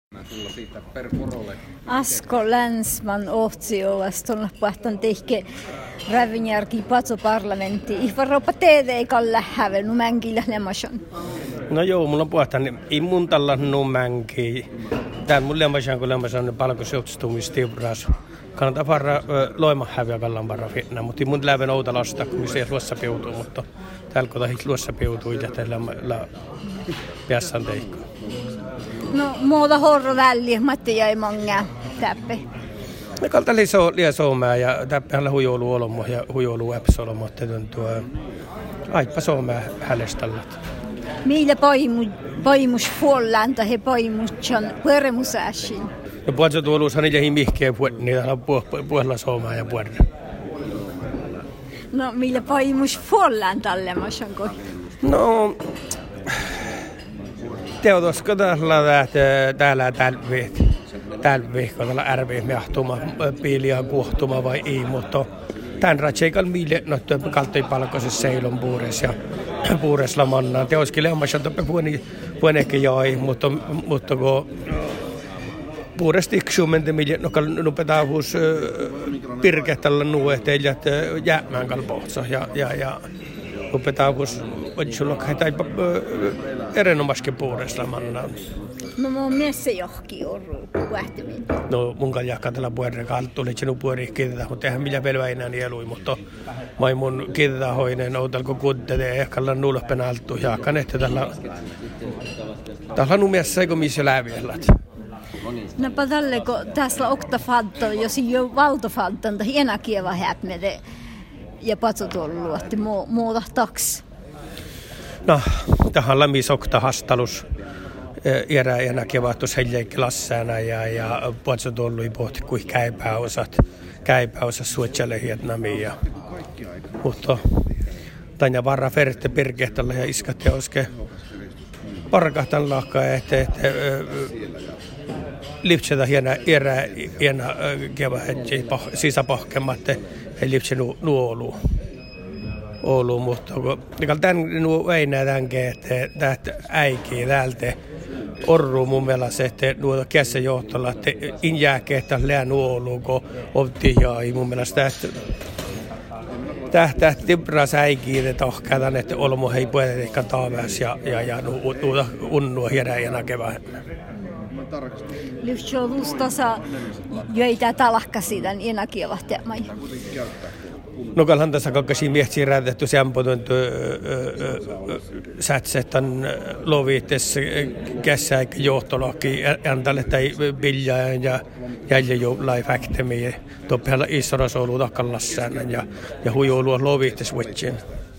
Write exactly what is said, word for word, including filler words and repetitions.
Asko Länsman Ohtsiolas tuolla puhtaan tehke Rävinjärki patso parlamentti. Ihvaropa teede ei kalla hävel numänkillä lemasan. No joo, mulla on puhtaan ei mun tällä numänki. Tää mun lemasan kun lemasan palkosjohtustumistiubras. Kannattaa varra loima häviä kallan varra fitna, mutta mun läven outa lasta, kun se luossa piutuu, mutta täällä kun luossa piutuu ja tällä la piassan teikko. No muuta horro väliä, Matti jäi monga täppe. Me kalta liso liesomää ja täppällä hujoulu olomo ja hujoulu äpsolomo, että tuo aipa somää hälestallat. Meillä paimu paimus puolanta he paimushan permusääsin. No puolta tuoluushan niitä ei mihkeä niitä puolella somää ja puolella. No meillä paimus puolanta lemmasan koi. No Teodosko täällä täällä tälviit tälviikolla ärvi mehtuma piiliä kuohtuma vai ei, mutta tän ratseikal mille no kaltoi palkoisessa seilon puures ja puuresla manna teoski lemmasan toppe puoni puoneke joi, mutta mutta ko puuresti iksumente mille no kal nupetaa hus pirkehtalla nuehteilla jäämään kalpohtsa ja ja ja nupetaa hus odisulla kai erinomaisesti puuresla manna. No mun mielestä johki orru lähteminen. No mun kanssa jahkaa tällä puolella kalta tuli sinun puolella kiitetä, mutta eihän millä velvä enää nielui, mutta mai mun kiitetä hoinen outalko kuntete ja ehkä ollaan nuulopena alttu jahkan, että tällä tällä on mielestä eikö missä läviellät. No pa tälle kun tässä on oktafadta, jos ei ole valtofadta, niin hiena kieva häpmede ja patsotuollu, että muuta taks. No, tähän lämmisokta hastalus. Erä enää kevattus heille klassana ja ja puolso tullui pohti kuin käypäosat käypäosat suotselle Vietnamia. Mutta tanja varra ferte pirkehtalla ja iskat ja oske parkahtan lakkaa että että lipseta hiena erä hiena keva hetki sisäpahkematte ei lipsenu nuolu. Oulu, mutta kun tämän nuo ei nähdäänkin, että että äikii täältä orru mun mielestä, että nuo kässä johtolla, että in jääkeettä lää nuolu, kun oltiin ja mun mielestä, että tähtää tibras äikii, että ohkäätän, että olmo hei puhuta ehkä taaväs ja ja ja nuo unnua hieräjänä kevään. Lyhtsjouluus tasa jöitä talakka siitä enäkievahtemai. No kalhan tässä kakkasi miehtsiä räätetty sämpötön sätsetan lovites kässä eikä johtolaki antalle tai biljaan ja jäljä jo live-actemiä. Toppihalla isorasoulu takkallassään ja, ja hujoulua lovites witchin.